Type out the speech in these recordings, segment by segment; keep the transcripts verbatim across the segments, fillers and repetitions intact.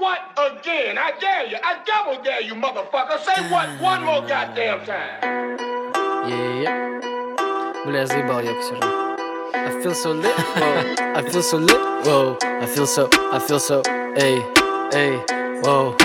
what again? I dare you. I double dare you, motherfucker. Say what one more goddamn time. Yeah, yeah. Бля, я заебал, я сижу. I feel so lit, whoa. I feel so lit, whoa. I feel so, I feel so, эй, эй, whoa.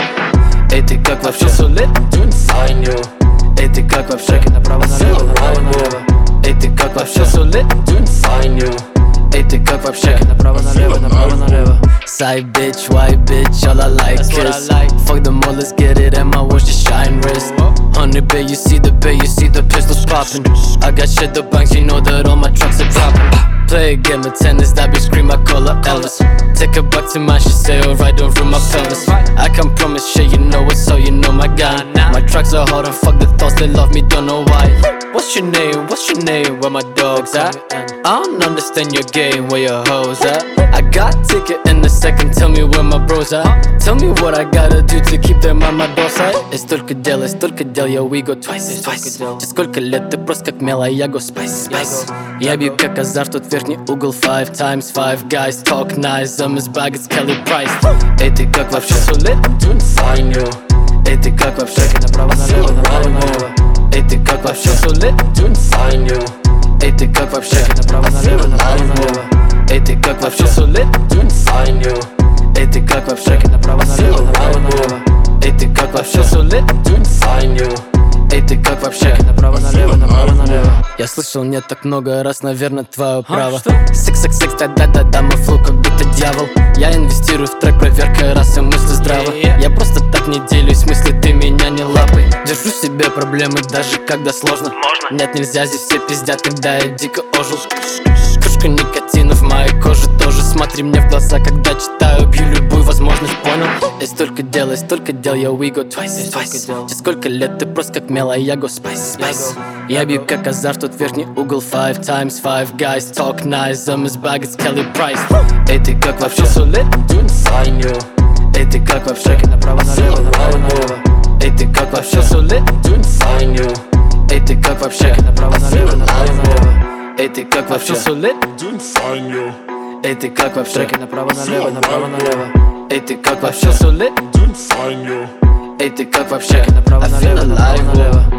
Эй, ты как вообще? I feel so lit, I knew. Эй, ты как вообще? Направо-налево, направо-налево. Эй, ты как вообще? I feel so lit, I knew. Эй, ты как вообще? Направо-налево, направо-налево. Side bitch, white bitch, all I like is like. Fuck them all, let's get it, and my watch just shine wrist. Hundred bay, you see the bay, you see the pistols popping. I got shit the banks, you know that all my trucks are dropping. Play a game of tennis, that bitch scream, I call her Elvis. Take her back to mine, she say alright, don't ruin my pelvis. I can promise shit, you know it, so you know my guy. My tracks are hard and fuck the thoughts, they love me, don't know why. What's your name, what's your name, where my dogs at? I don't understand your game, where your hoes at? I got ticket in a second, tell me where my bros at. Tell me what I gotta do to keep them on my doorstep. И столько дел, и столько дел, yo, we go twice, twice. Через сколько лет ты просто как мело, я go spice, spice. Я бью как азар, тут верхний угол, five times five guys talk nice, I'm as bag as Kelly Price. Эй, ты как вообще? So lit, I knew. Эй, ты как вообще? Направо-налево, направо-налево. Эй, ты как вообще? So lit, I knew. Эй, ты как вообще? Направо-налево, направо-налево. Эй, ты как вообще? So lit, I knew. Эй, ты как вообще? Направо-налево, направо-налево. Эй, ты как вообще? So lit, I knew. Эй, ты как вообще? Направо-налево, направо-налево. Я слышал не так много раз, наверное, твое право. Секс, секс, секс, да-да-да-да, мой флоу как будто дьявол. Я инвестирую в трек, проверка расы, мысли здраво. Я просто так не делюсь, в смысле ты меня не лапай. Держу в себе проблемы, даже когда сложно. Нет, нельзя, здесь все пиздят, когда я дико ожил. Кружка никотина в моей коже тоже. Смотри мне в глаза, когда читаю, бью любую возможность, понял? И столько дел, и столько дел, yo, we go twice, twice. Через сколько лет ты просто как мело, я go spice, spice. Я бью как азар, тут верхний угол, five times five guys talk nice, I'm as bag as Kelly Price. Эй, ты как вообще? So lit, I knew. Эй, ты как вообще? Направо-налево, направо-налево. Эй, ты как вообще? So lit, I knew. Эй, ты как вообще? Направо-налево, направо-налево. Эй, ты как вообще? So lit, I knew. Эй, ты как вообще? Направо-налево, направо-налево. Эй, ты как вообще? So lit, I knew. Эй, ты как вообще? Направо-налево, направо-налево.